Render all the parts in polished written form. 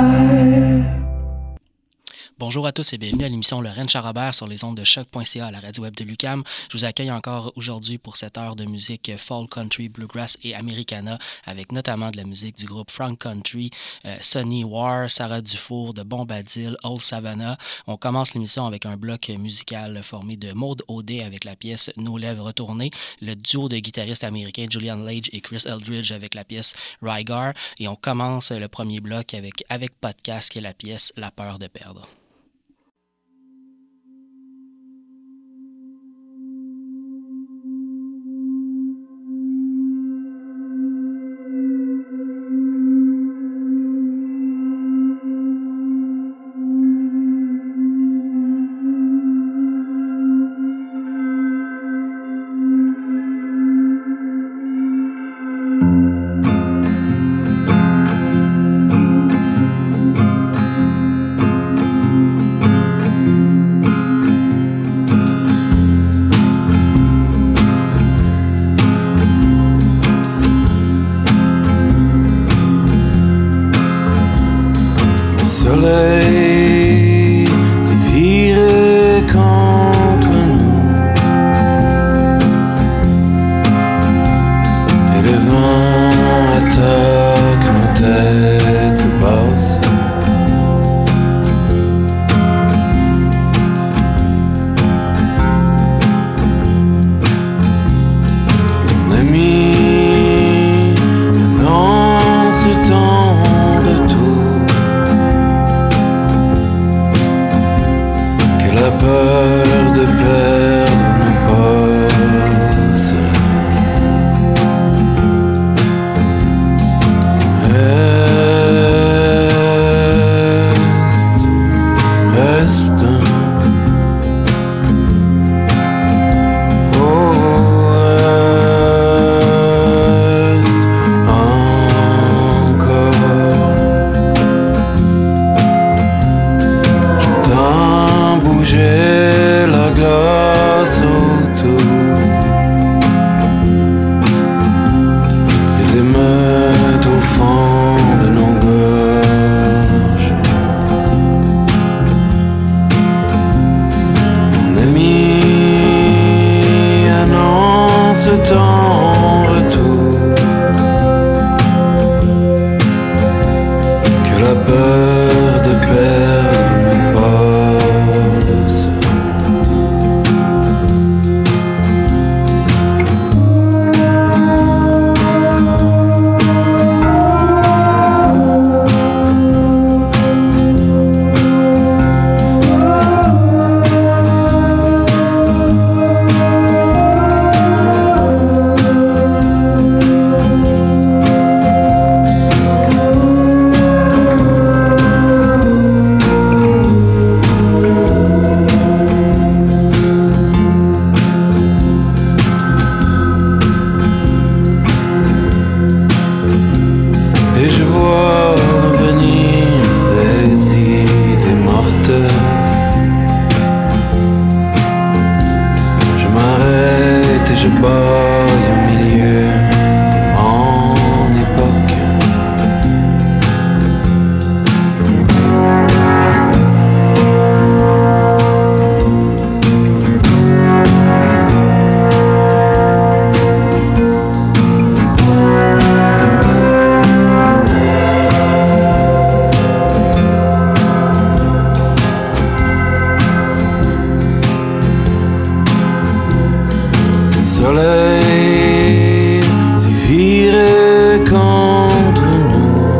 Bonjour à tous et bienvenue à l'émission Lorraine Charrobert sur les ondes de choc.ca à la radio web de l'UQAM. Je vous accueille encore aujourd'hui pour cette heure de musique folk, country, bluegrass et americana avec notamment de la musique du groupe Frank Country, Sonny War, Sarah Dufour, de Bombadil, Old Savannah. On commence l'émission avec un bloc musical formé de Maude Audet avec la pièce Nos lèvres tournées, le duo de guitaristes américains Julian Lage et Chris Eldridge avec la pièce Rygar. Et on commence le premier bloc avec Podcast qui est la pièce La peur de perdre. Soleil s'est viré contre nous et le vent attaque nos têtes basses. On a mis dans ce temps la peur de perdre nos passes. Reste. Oh, reste encore. J'entends bouger la glace autour, les émeutes au fond de nos gorges. On a mis un an ce temps en retour, que la peur de perdre nos passes. Et je vois venir des idées mortes. Je m'arrête et je baille au milieu de mon époque. Le soleil s'est viré contre nous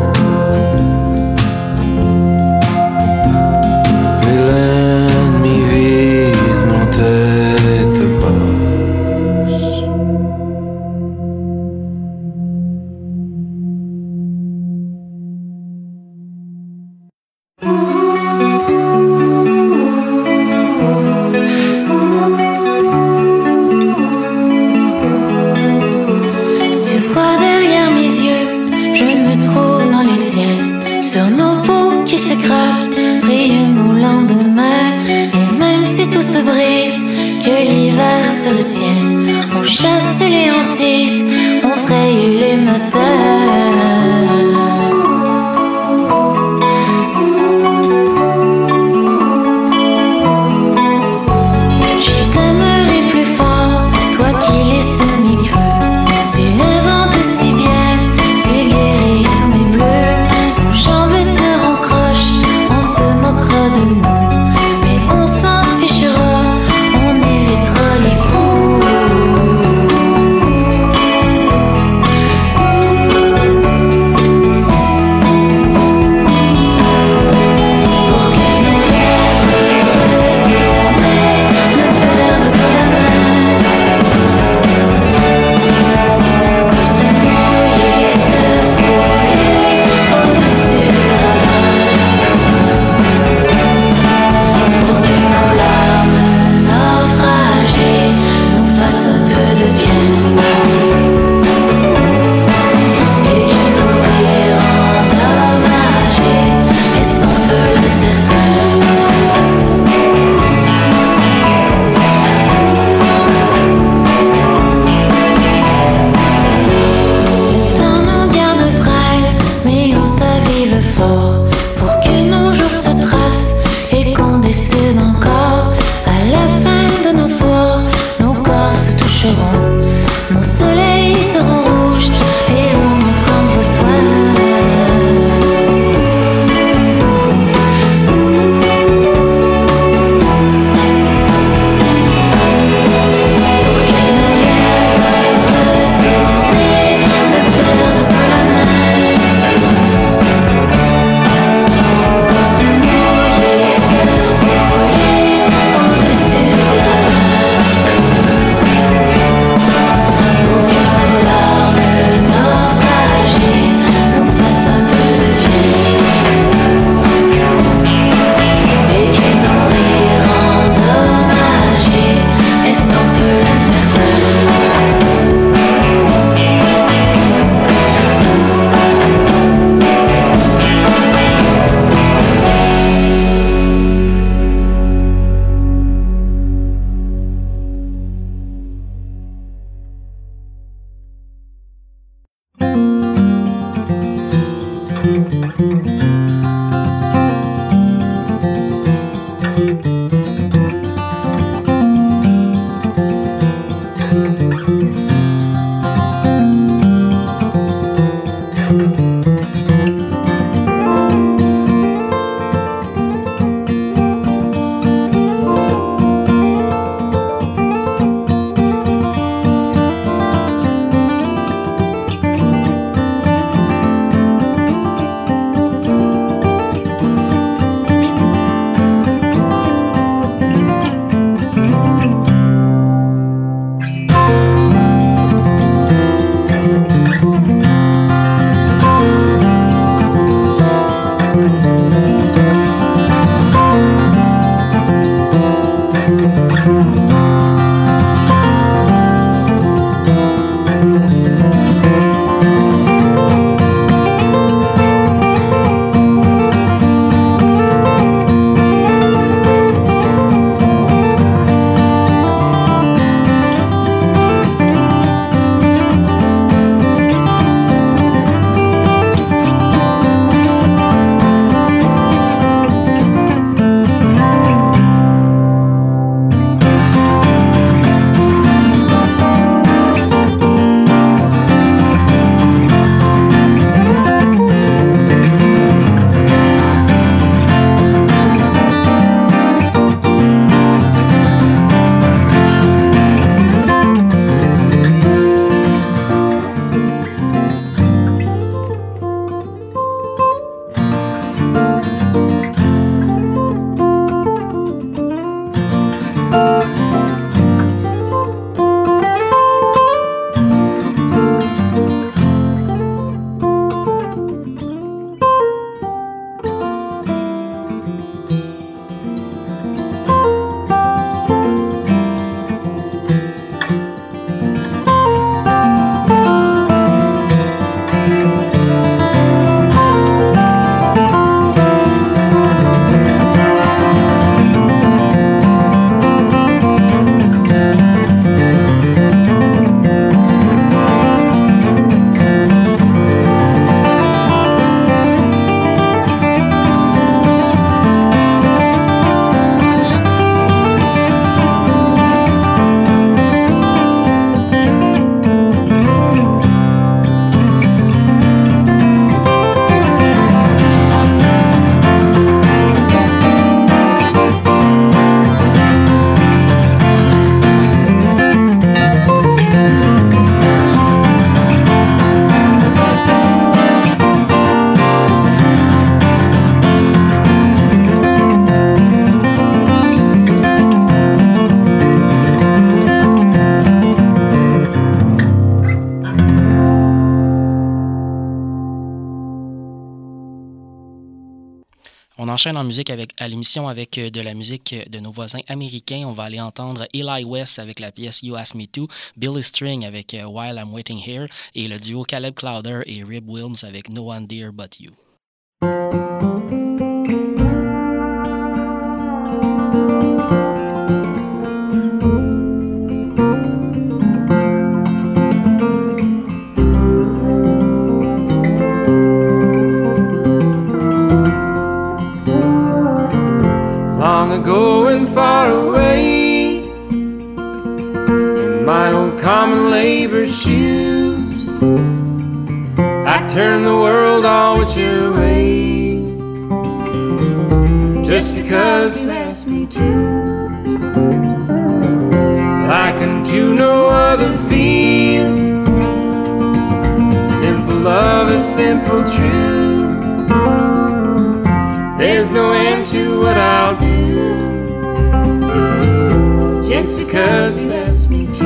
et l'ennemi vise nos têtes basses. Tu vois derrière mes yeux, je me trouve dans les tiens. Sur nos peaux qui se craquent, brillent nos lendemains. Et même si tout se brise, que l'hiver se retient, on chasse les hantises, on fraye les matins. On enchaîne en musique à l'émission avec de la musique de nos voisins américains. On va aller entendre Eli West avec la pièce You Ask Me To, Billy String avec While I'm Waiting Here et le duo Caleb Clowder et Rib Wilms avec No One Dear But You. Long ago and far away, in my old common labor shoes, I turned the world all which way, just because you asked me to. Like unto no other feel, simple love is simple true. There's no end to what I'll do, just because you asked me to.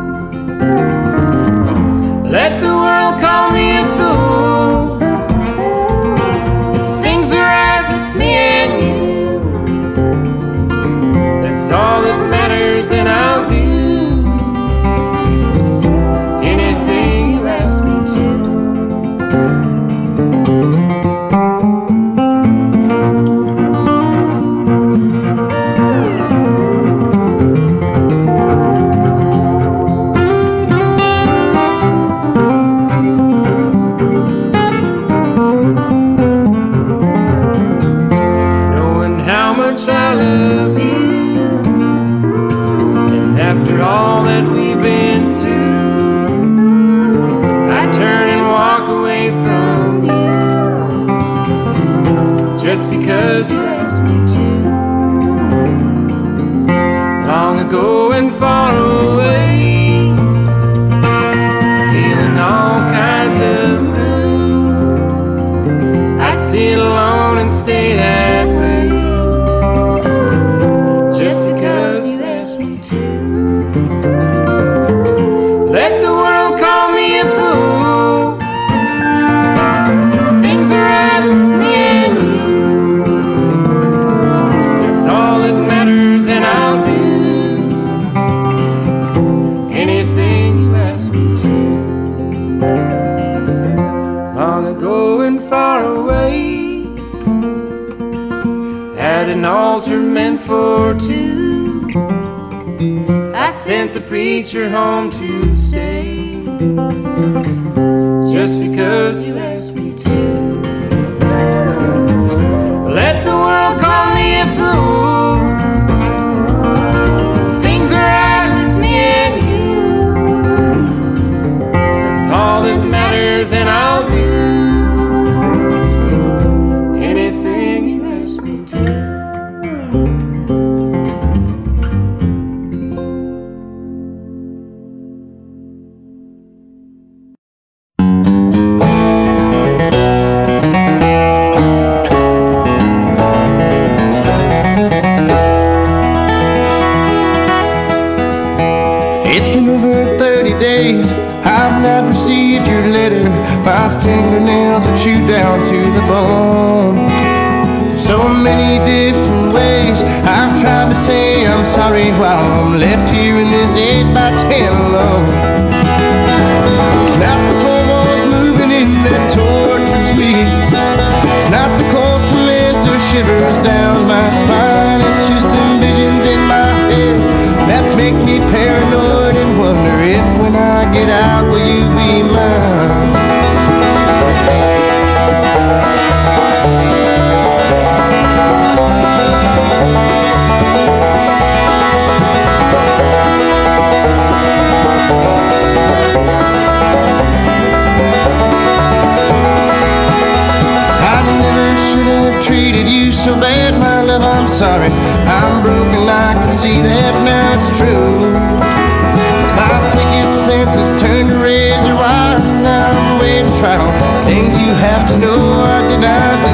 Let the world call me a fool, if things are right with me and you, that's all that matters, and I'll do anything you ask me to. I love you, and after all that we've been through, I turn and walk away from you, just because you asked me to. Long ago and far away, feeling all kinds of blue, I'd sit alone and stay that way, an altar meant for two. I sent the preacher home to stay, just because you asked me to. Let the world call me a fool, things are right with me and you, that's all that matters, and I'll do anything you ask me to. days I've not received your letter. My fingernails are chewed down to the bone. So many different ways I've tried to say I'm sorry while I'm left here in this 8x10 alone. It's not the four walls moving in that tortures me. It's not the cold cement or shivers down my spine. It's just the visions in my head that make me paranoid and wonder if when I get out will you be mine. Treated you so bad, my love, I'm sorry. I'm broken, I can see that now it's true. My picket fences turned to razor wire. Now I'm waiting trial. Things you have to know I did not do.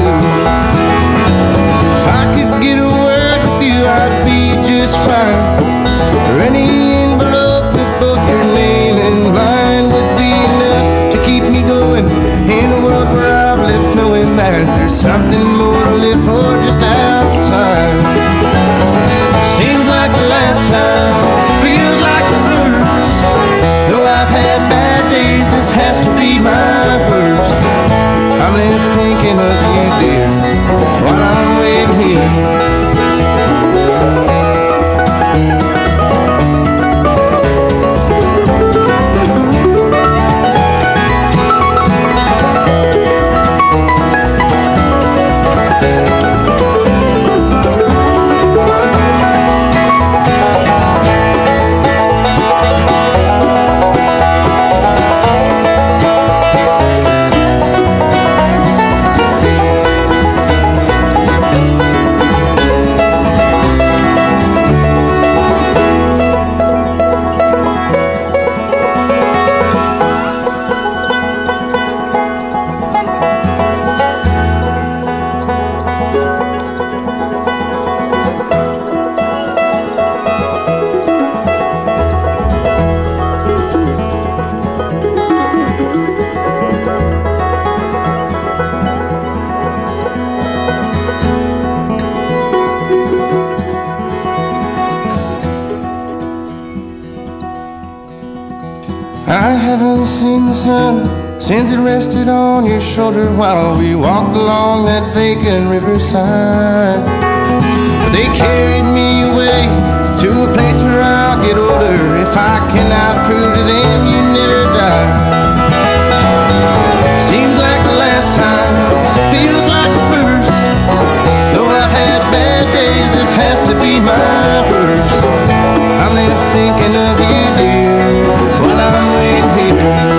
If I could get a word with you, I'd be just fine. Or any envelope with both your name and mine would be enough to keep me going in a world where I've left knowing that there's something more to live for just outside. Seems like the last time, feels like the first. Though I've had bad days, this has to be my worst. I'm left thinking of you, dear, while I'm waiting here. I haven't seen the sun since it rested on your shoulder while we walked along that vacant riverside. But they carried me away to a place where I'll get older if I cannot prove to them you never died. Seems like the last time, feels like the first. Though I've had bad days, this has to be my worst. I'm left thinking of you, dear, while I'm waiting here.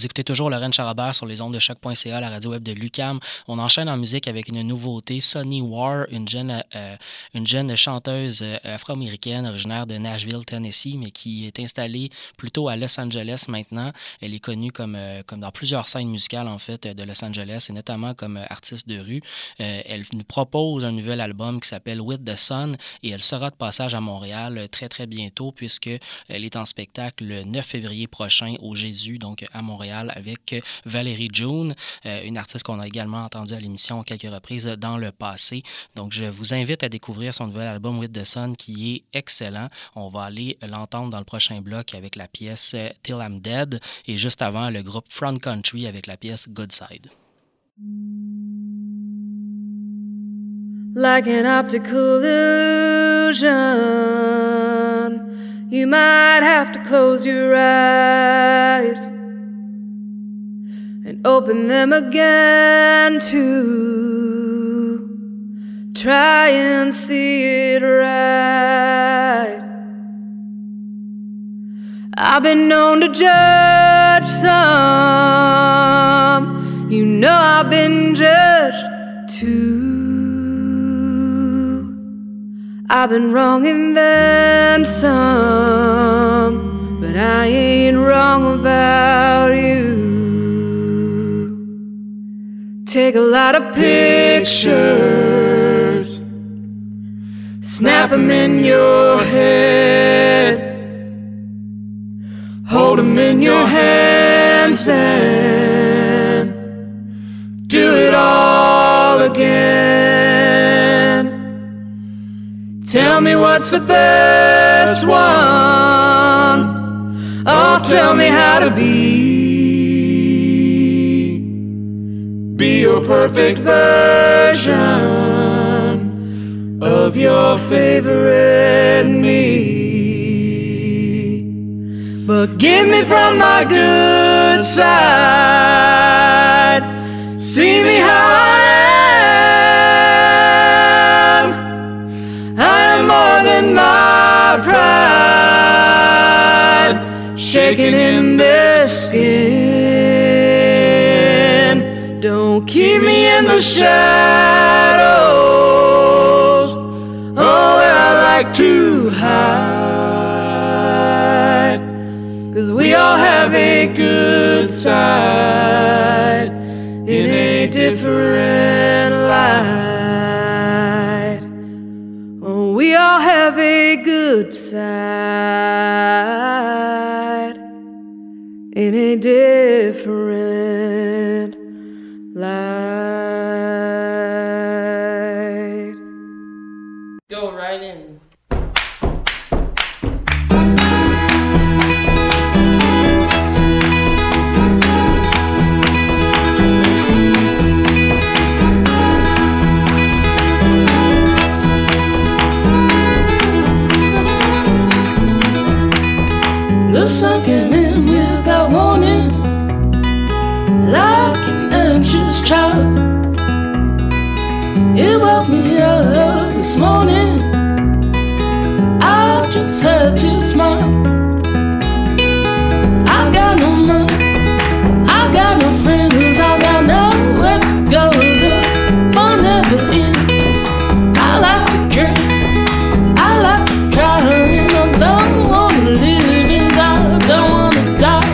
Vous écoutez toujours Lorraine Charabert sur les ondes de choc.ca, la radio web de l'UQAM. On enchaîne en musique avec une nouveauté, Sunny War, une jeune chanteuse afro-américaine originaire de Nashville, Tennessee, mais qui est installée plutôt à Los Angeles maintenant. Elle est connue comme dans plusieurs scènes musicales, en fait, de Los Angeles, et notamment comme artiste de rue. Elle nous propose un nouvel album qui s'appelle With the Sun, et elle sera de passage à Montréal très, très bientôt, puisqu'elle est en spectacle le 9 février prochain au Jésus, donc à Montréal, avec Valérie June, une artiste qu'on a également entendue à l'émission à quelques reprises dans le passé. Donc, je vous invite à découvrir son nouvel album With the Sun, qui est excellent. On va aller l'entendre dans le prochain bloc avec la pièce Till I'm Dead, et juste avant, le groupe Front Country avec la pièce Good Side. Like an optical illusion, you might have to close your eyes and open them again to try and see it right. I've been known to judge some, you know I've been judged too. I've been wrong and then some, but I ain't wrong about you. Take a lot of pictures, snap them in your head, hold them in your hands, then do it all again. Tell me what's the best one. Oh, tell me how to be your perfect version of your favorite me. But get me from my good side, see me how I am. I am more than my pride, shaking in this skin. Don't keep me in the shadows, oh, where I like to hide. 'Cause we all have a good side in a different light. Oh, we all have a good side in a different light. Go right in. The sun came in without warning, like an anxious child. It woke me up this morning, I just had to smile. I got no money, I got no friends, I got nowhere to go. The fun never ends. I like to drink, I like to cry, and I don't wanna live and I don't wanna die.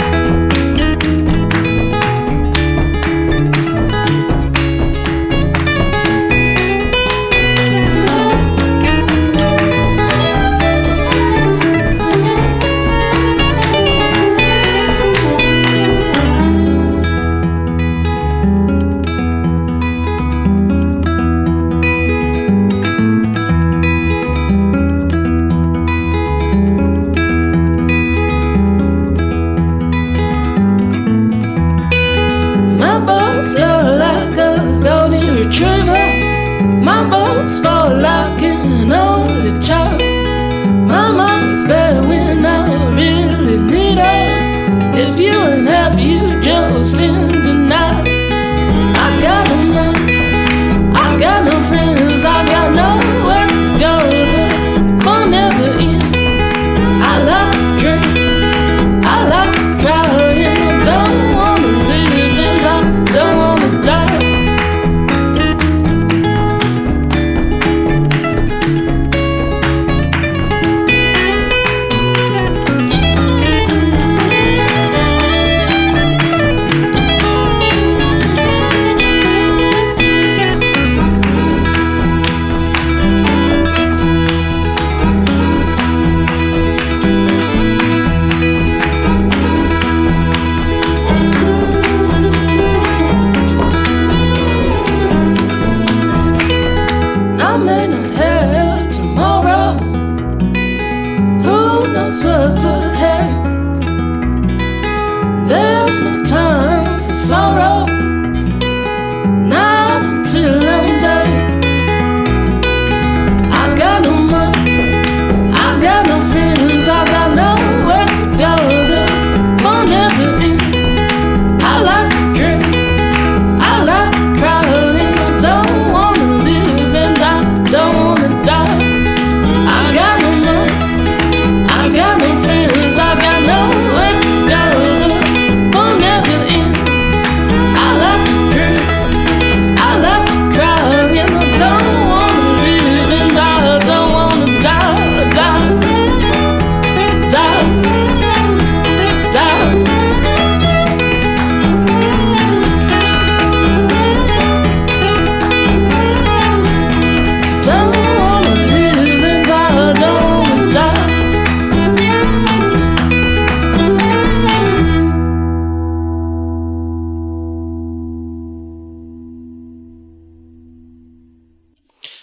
My balls fall like an only child. My mom's there when I really need her. If you ain't happy, you just in tonight. I got no money, I got no friends, I got nowhere to go. The fun never ends. I like to drink, I like to cry, and I don't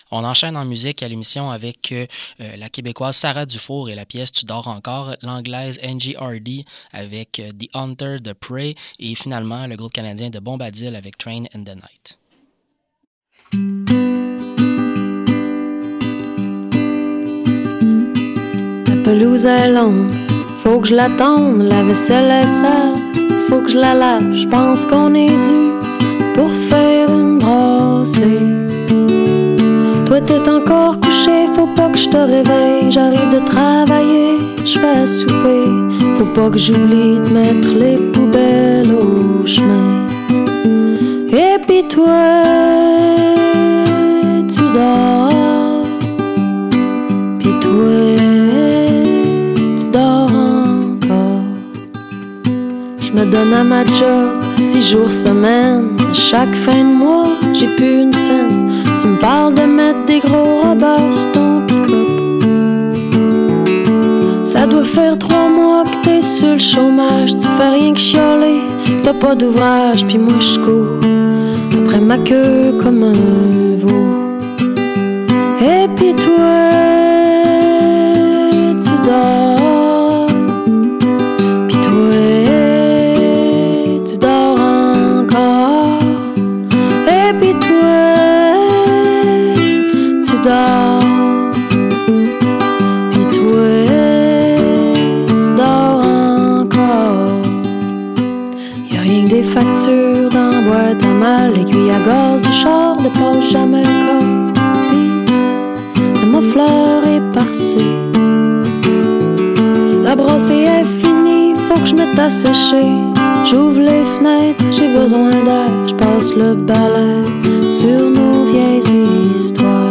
On enchaîne en musique à l'émission avec la Québécoise Sarah Dufour et la pièce Tu dors encore, l'Anglaise Angie Hardy avec The Hunter de Prey et finalement le groupe canadien de Bombadil avec Train in the Night. La pelouse est longue, faut que je la tonde, la vaisselle est sale, faut que je la lave, je pense qu'on est dû pour faire une brassée. Toi t'es encore couché, faut pas que je te réveille. J'arrive de travailler, je fais à souper. Faut pas que j'oublie de mettre les poubelles au chemin. Et puis toi, tu dors. Puis toi, tu dors encore. Je me donne à ma job 6 jours semaine. À chaque fin de mois, j'ai plus une scène. Tu me parles de mettre des gros robots sur ton pick-up. Ça doit faire 3 mois que t'es sur le chômage. Tu fais rien que chialer, que t'as pas d'ouvrage. Puis moi je cours après ma queue comme un veau. Et puis toi, tu dors. Puis toi, tu dors encore. Et puis toi, tu dors. Puis toi, tu dors encore. Y'a rien que des factures dans la boîte à mal. L'aiguille à gaz du char dépasse jamais le copie de ma fleur éparcée. La brassée est finie, faut que je mette à sécher. J'ouvre les fenêtres, j'ai besoin d'air. Je passe le balai sur nos vieilles histoires.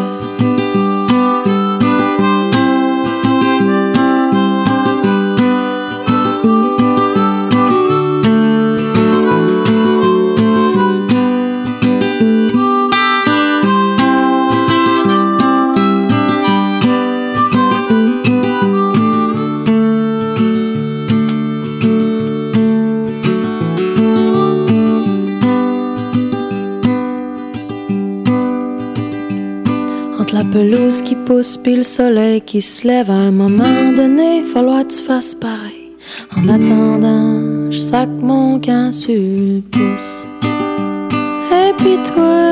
La pelouse qui pousse puis le soleil qui se lève, à un moment donné, falloir que tu fasses pareil. En attendant, je sac mon camp sur le pouce. Et puis toi,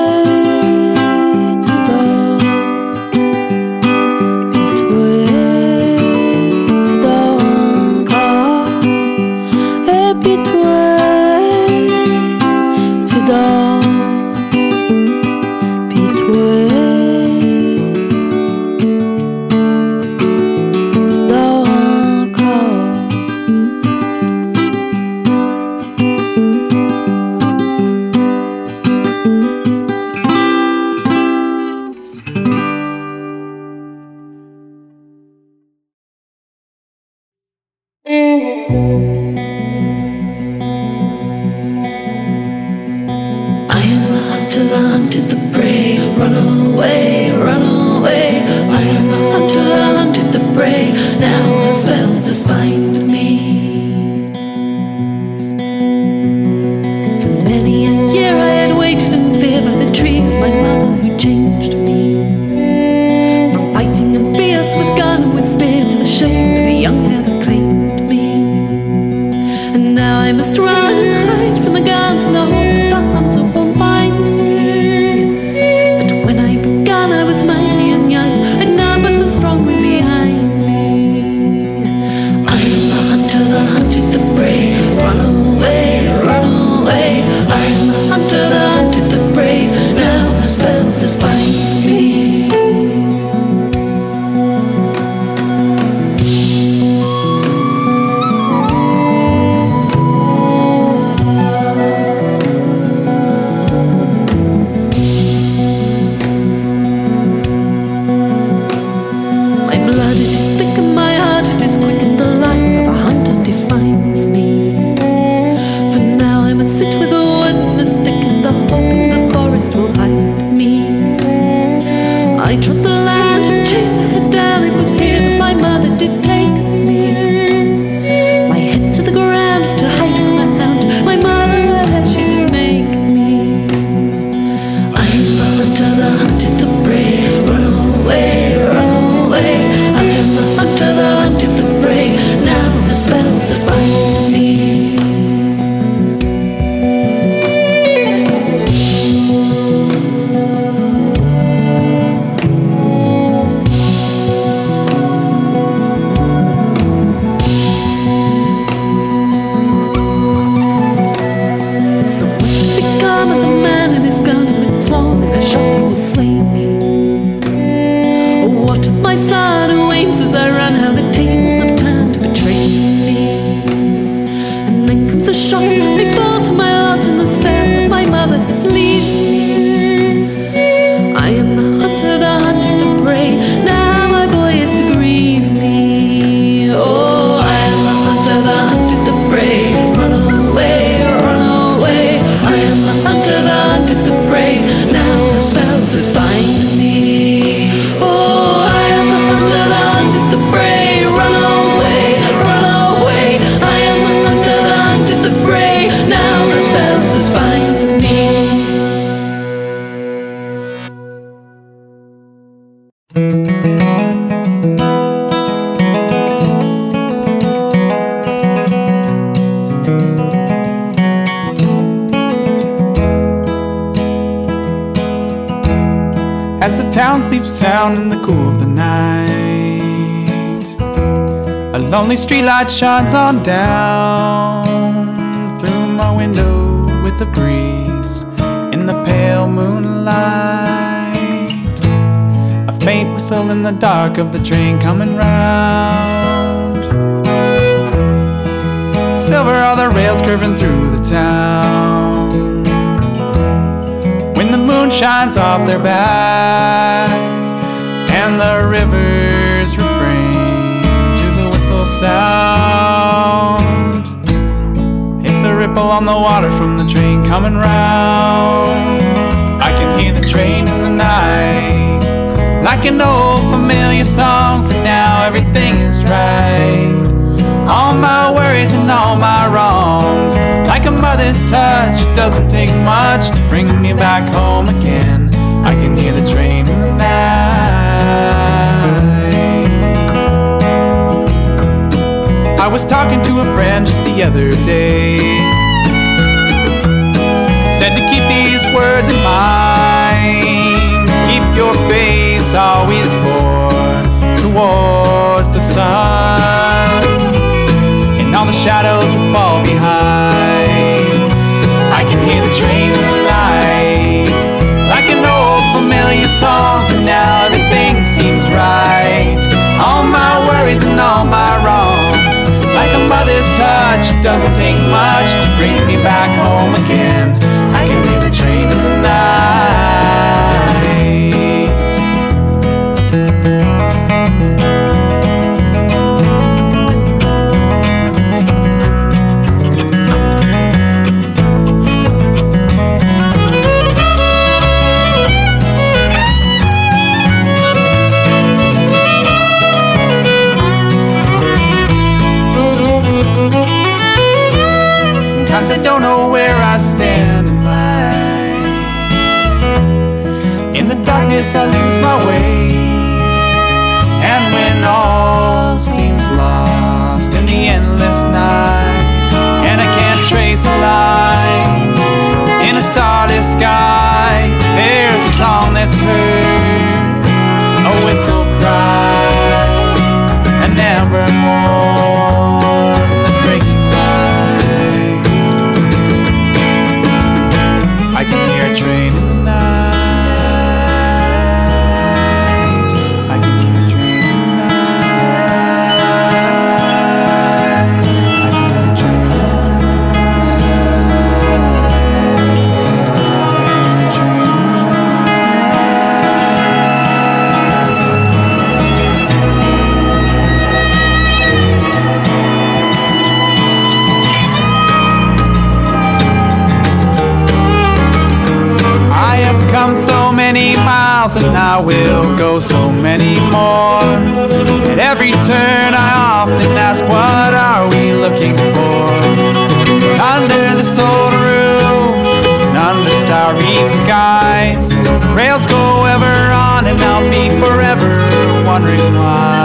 tu dors. Puis toi, tu dors encore. Et puis toi, tu dors. Puis toi, strong wind behind me. I am the hunter, the hunted, the prey. Run away, run away. I am the hunter, the hunted, the prey. Now the spell to bind me. To the hunted, the brave. slay me. What of my sad waves as I run, how the tables have turned to betray me. And then comes a shot, may fall to my lot, and the spell of my mother leaves me. I am the hunter, the hunted, the prey. Now my boy is to grieve me. Oh, I am the hunter, the hunted, the prey. Run away, run away. I am the hunter, the hunted, the prey. Now the spell does bind me. Oh, I am the hunter, the hunted, the prey. Run away, run away. I am the hunter, the hunted, the prey. Now the spell does bind me. As the town sleeps sound in the cool of the night, a lonely streetlight shines on down through my window with the breeze in the pale moonlight. A faint whistle in the dark of the train coming round. Silver are the rails curving through the town when the moon shines off their backs and the rivers refrain to the whistle sound. It's a ripple on the water from the train coming round. I can hear the train in the night like an old familiar song. For now everything is right, all my worries and all my wrongs. Like a mother's touch, it doesn't take much to bring me back home again. I can hear the train in the night. I was talking to a friend just the other day, said to keep these words in mind. Keep your face always forward towards the sun, and all the shadows will fall behind. I can hear the train in the night like an old familiar song. For now everything seems right, all my worries and all my wrongs. Like a mother's touch, it doesn't take much to bring me back home again. I can hear the train in the night. Sometimes I don't know where I stand in life. In the darkness I lose my way, and when all seems lost in the endless night, and I can't trace a line in a starless sky, there's a song that's heard, a whistle cry, an amber morn, breaking light. I can hear a train in the night. I can hear a train in the night. I can hear a train in the come so many miles, and I will go so many more. At every turn I often ask, what are we looking for? Under this old roof, and under starry skies, rails go ever on, and I'll be forever wondering why.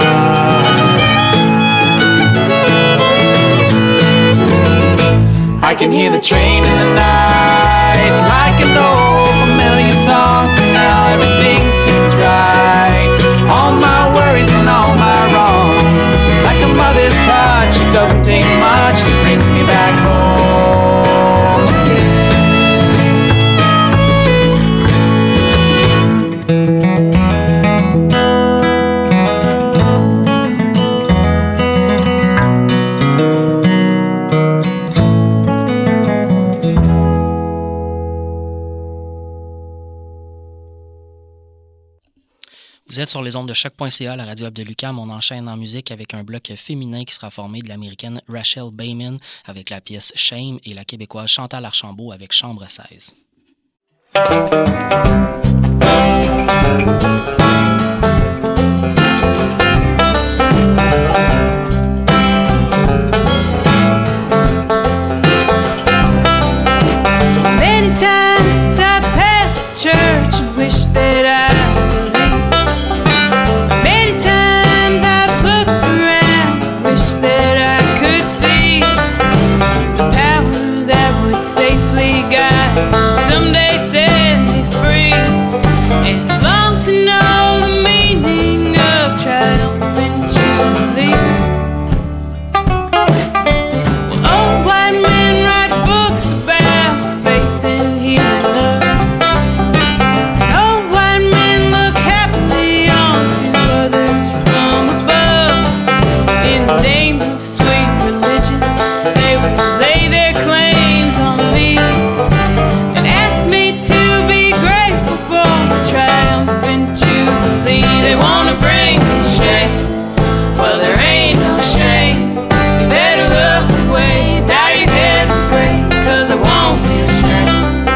I can hear the train in the night like an old familiar song. For now everything seems right, all my worries and all my wrongs. Like a mother's touch, it doesn't take much to bring me back home again. Vous êtes sur les ondes de choc.ca, la radio web de l'UQAM. On enchaîne en musique avec un bloc féminin qui sera formé de l'américaine Rachel Bayman avec la pièce Shame et la québécoise Chantal Archambault avec Chambre 16. Many times I've passed the church and wish that I believed. Many times I've looked around, wish that I could see the power that would safely guide, someday set me free, and long to know the meaning of triumphant jubilee. Well, old white men write books about faith and healing love. Old white men look happily onto others from above. In the name of sweet religion, they would lay their claims on me and ask me to be grateful for the triumphant jubilee. They wanna bring me shame. Well, there ain't no shame. You better look away, bow your head and pray, 'cause I won't feel shame.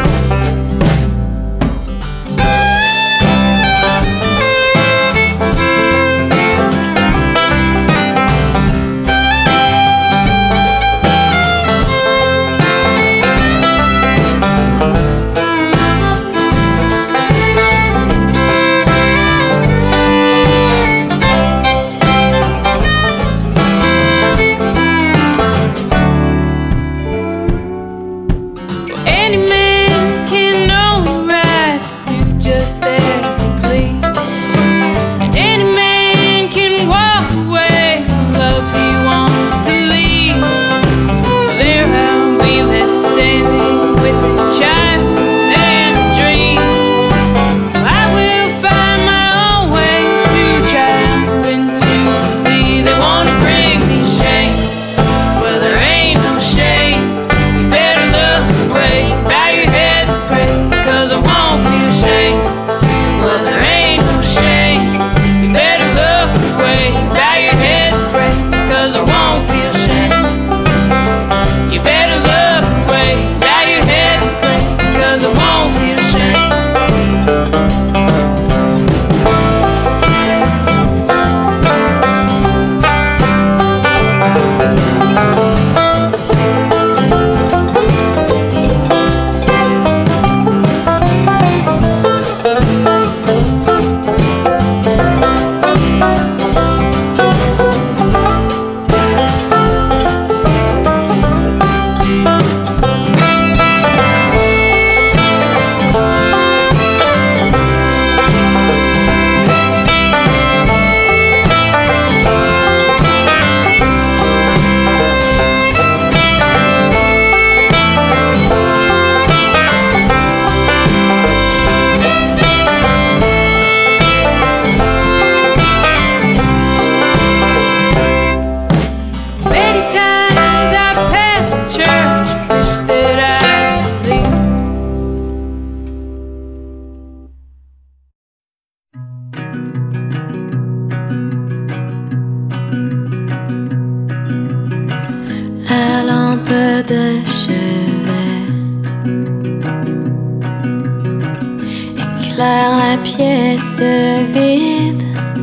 Any man can know the right to do just as he please, and any man can walk away from love he wants to leave. There I'll be left standing with a child and a dream, so I will find my own way to triumphant jubilee. They wanna bring me shame. Well, there ain't no shame. You better look away, bow your head and pray, 'cause I won't feel shame. Well, there ain't no shame. You better look away, bow your head and pray, 'cause I won't feel shame. You better look away, bow your head and pray, 'cause I won't feel shame. Many times I've passed the church, wish that I believed. La lampe de chevet éclaire la pièce vide,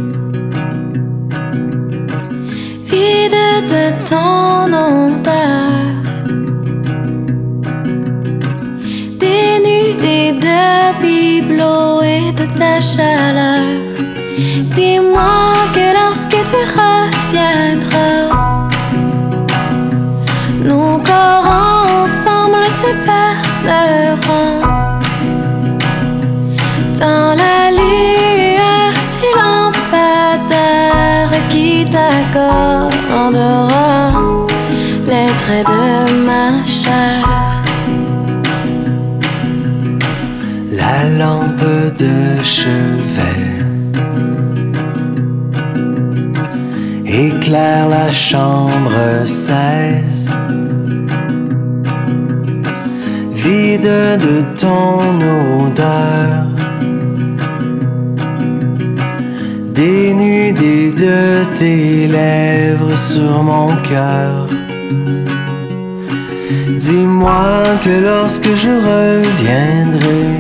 vide de ton odeur, dénudée de bibelots et de ta chaleur. Dis-moi que lorsque tu reviendras, nos corps ensemble se perceront dans la lueur du lampadaire qui t'accordera les traits de ma chair. La lampe de chevet éclaire la chambre 16, vide de ton odeur, de tes lèvres sur mon cœur. Dis-moi que lorsque je reviendrai,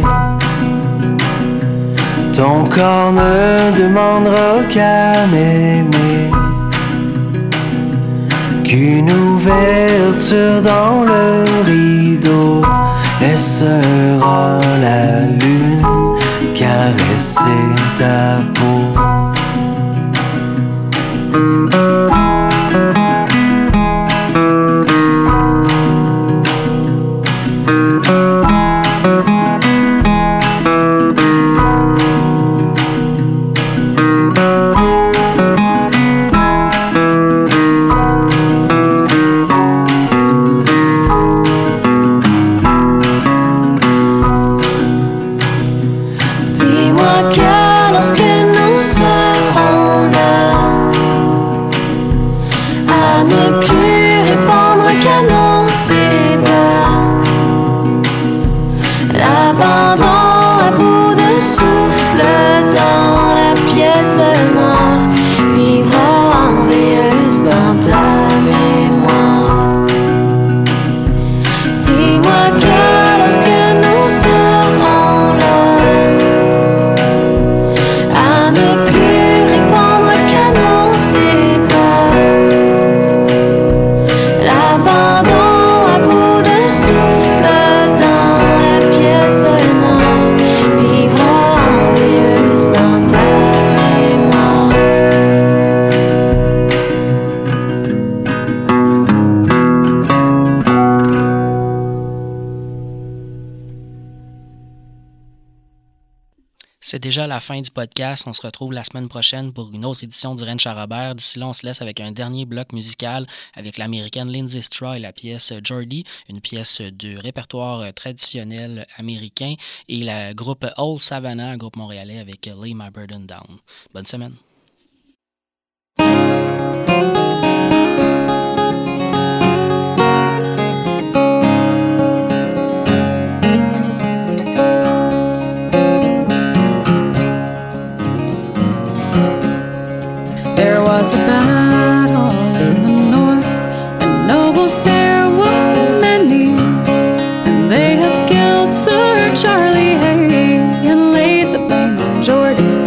ton corps ne demandera qu'à m'aimer, qu'une ouverture dans le rideau laissera la lune caresser ta peau. C'est déjà la fin du podcast. On se retrouve la semaine prochaine pour une autre édition du Ranch à Robert. D'ici là, on se laisse avec un dernier bloc musical avec l'américaine Lindsay Straw et la pièce Geordie, une pièce de répertoire traditionnel américain, et le groupe Old Savannah, un groupe montréalais avec Lay My Burden Down. Bonne semaine. Was a battle in the north, and nobles there were many, and they have killed Sir Charlie Hay and laid the blame on Geordie.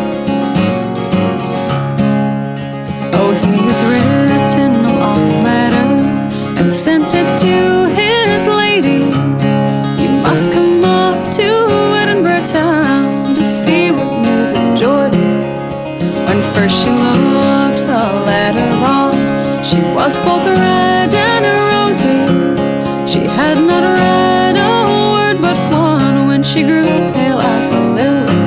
Oh, he's written a long letter and sent it to his lady. You must come up to Edinburgh town to see what news of Geordie. When first she looked the letter on, she was both red and rosy. She had not read a word but one when she grew pale as the lily.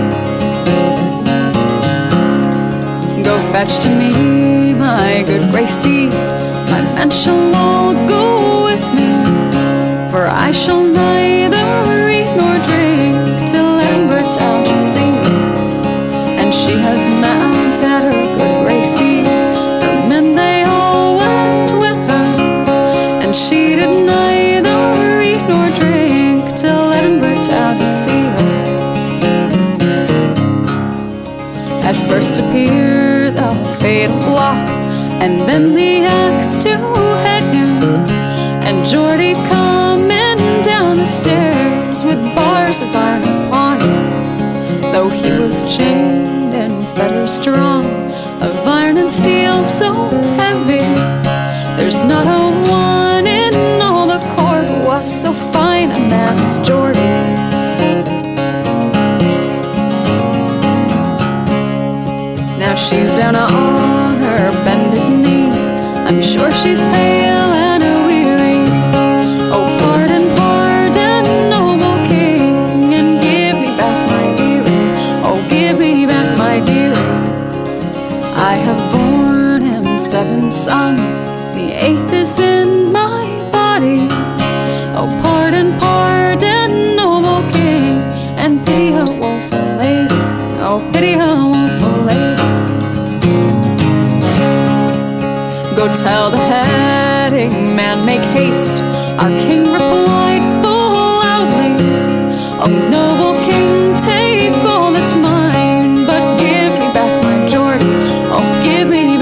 Go fetch to me my good grey steed, my men shall all go with me, for I shall neither eat nor drink till Edinburgh town should see me. And she has mounted her good grey steed, her men they all went with her, and she did neither eat nor drink till Edinburgh town could see her. At first appeared the fatal block, and then the axe to head him, and Geordie coming down the stairs with bars of iron upon him, though he was chained and fetters strong, of iron and steel so heavy. There's not a one in all the court who was so fine a man as Geordie. Now she's down on her bended knee, I'm sure she's pale and weary. Oh, pardon, pardon, noble king, and give me back my dearie. Oh, give me back my dearie. I have borne him 7 sons, the 8th is in my body. Oh, pardon, pardon, noble king, and pity a woeful lady. Oh, pity a woeful lady. Go tell the heading man, make haste. Our king replied full loudly, oh, noble king, take all that's mine, but give me back my Geordie. Oh, give me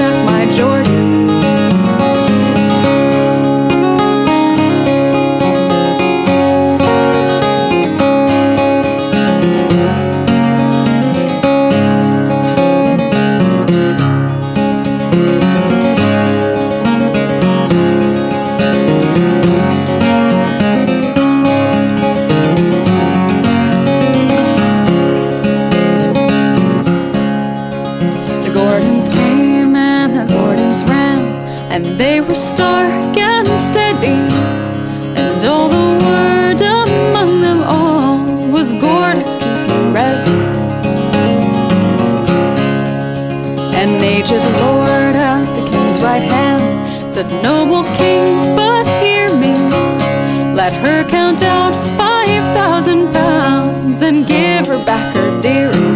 stark and steady, and all the word among them all was Gordon's keep you ready. An aged lord at the king's right hand said, "Noble king, but hear me. Let her count out 5,000 pounds and give her back her dearie."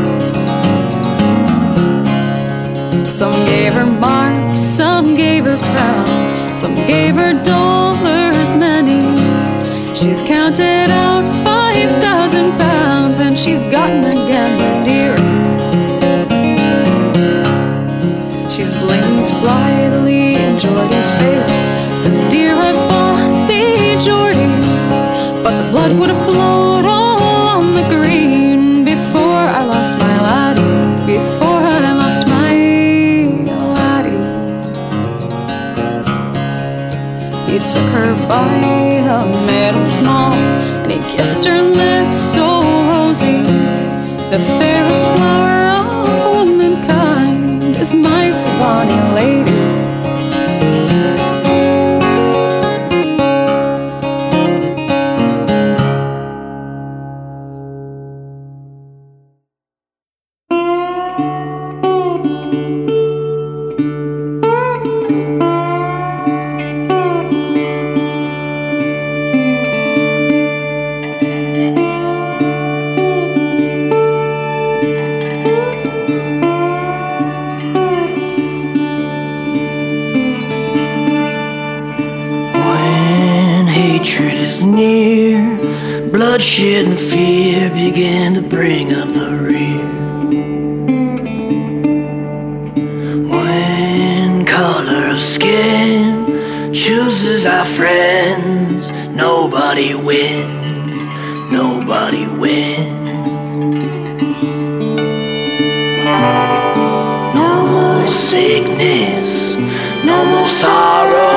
Some gave her marks, some gave her crowns, some gave her dollars many. She's counted out 5,000 pounds and she's gotten again her dearie. She's blinked blithely in Geordie's face, says, "Dear, I bought thee, Geordie, but the blood would have flowed all on the green before I lost my laddie, before I lost my laddie." He took her by a middle small and he kissed her lips so rosy. The fairest flower of womankind is my Swanee lady. Bloodshed and fear began to bring up the rear. When color of skin chooses our friends, nobody wins, nobody wins. No more sickness, no more sorrow.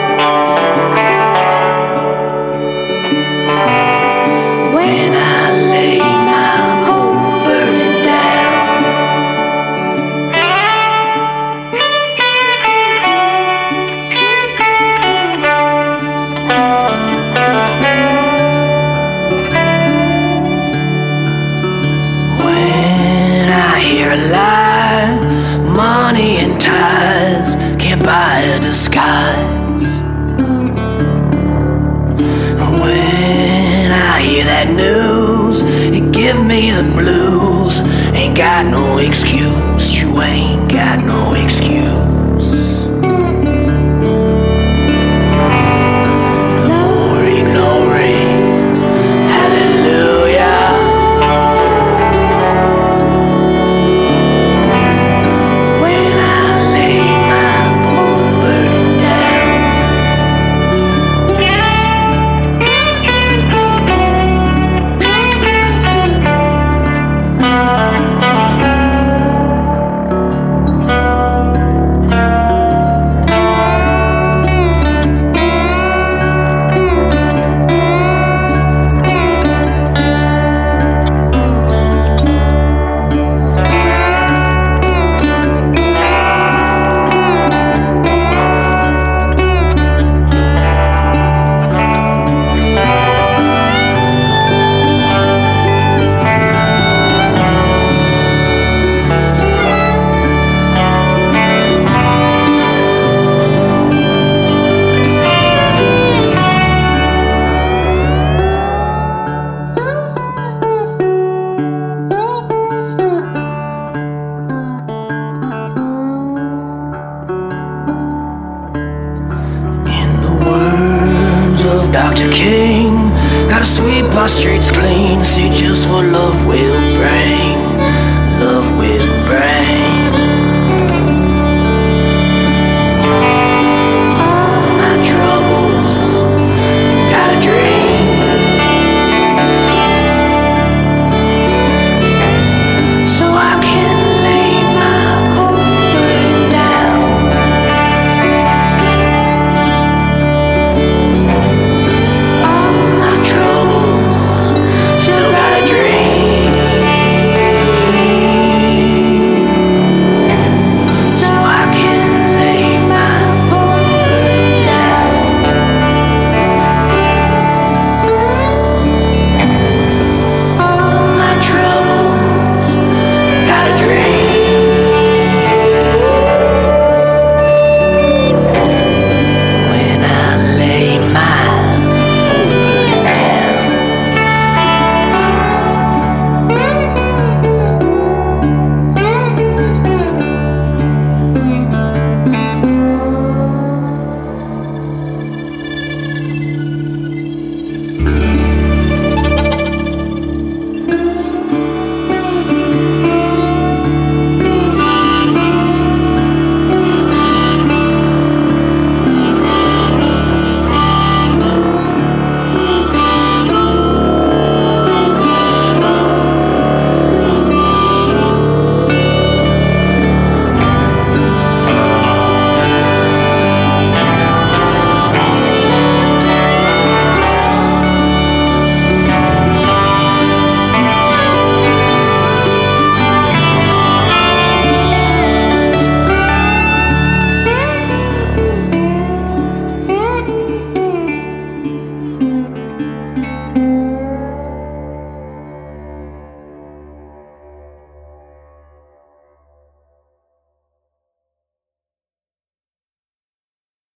When I lay my whole burden down, when I hear a lie, money and ties can't buy a disguise. When I hear that news, it give me the blues. Ain't got no excuse, you ain't got no excuse. Glory, glory, hallelujah. When I lay my poor burden down, Dr. King, gotta sweep our streets clean, see just what love